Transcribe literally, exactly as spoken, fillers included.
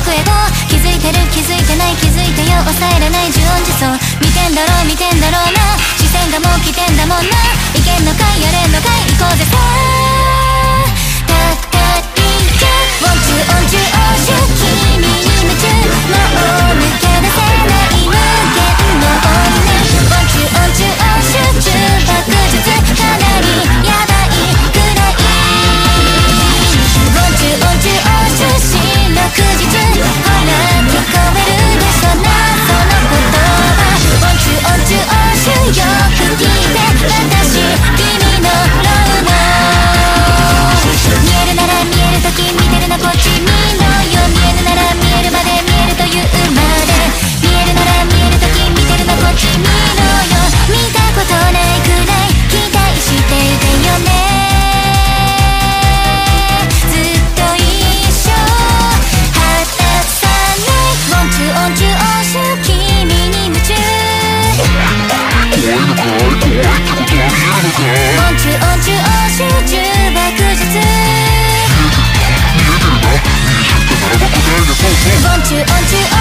エゴ気づいてる気づいてない気づいてよ抑えれない十音自走見てんだろう見てんだろうな視線がもう来てんだもんないけんのかいやれんのかい行こうぜさたった一曲ウォンチューオンチューオーシュ君に夢中もう抜け出せない無限の女ウォンチューオンチューオーシュ中爆術かなりやばいくらいウォンチューオンチューオーシュ四六時中ほら聞こえるでしょなその言葉ウォンチューオンチューオーシュよく聞いて私君のローマ見えるなら見えるとき見てるのこっち見ろよ見えるなら見えるまで見えるというまで見えるなら見えるとき見てるのこっち見ろよ見たことないくらい期待していてよねずっと一緒果たさないウォンチューオンチューオーシュ君に夢中怖いのかい怖いってことは見えるのかいウォンチューオンチューオーシュ重爆術見えてるな見えてるならば答えがそうそうウォンチューオンチューオー